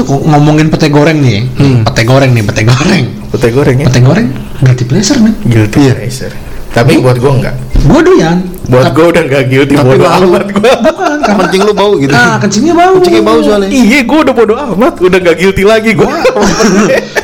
ngomongin pete goreng nih. Pete goreng nih. Pete goreng ya. Pete goreng guilty pleasure, men. Guilty pleasure. Tapi buat gue enggak. Gue doyan. Buat gue udah enggak guilty, bodo amat gue. Bukan, karena Kencing lu bau gitu. kencingnya bau. Kencingnya bau soalnya. Iya, gue udah bodo amat, udah enggak guilty lagi gue.